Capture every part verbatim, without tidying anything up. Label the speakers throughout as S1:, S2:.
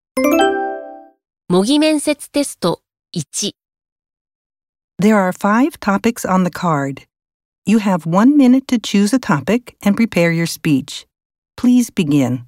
S1: 模擬面接テストいち。
S2: There are five topics on the card. You have one minute to choose a topic and prepare your speech. Please begin.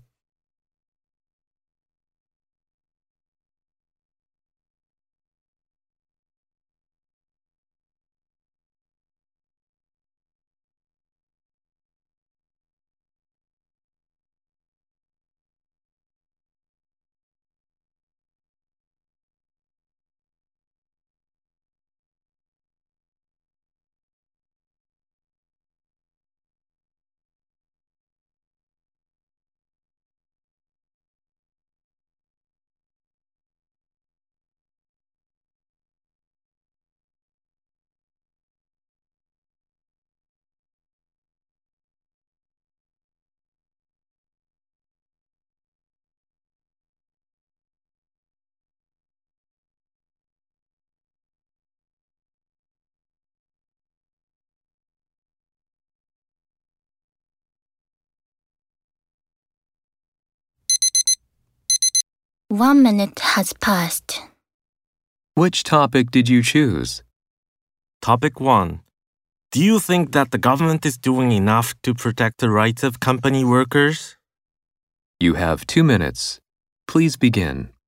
S3: One minute has passed.
S4: Which topic did you choose?
S5: Topic one. Do you think that the government is doing enough to protect the rights of company workers?
S4: You have two minutes. Please begin.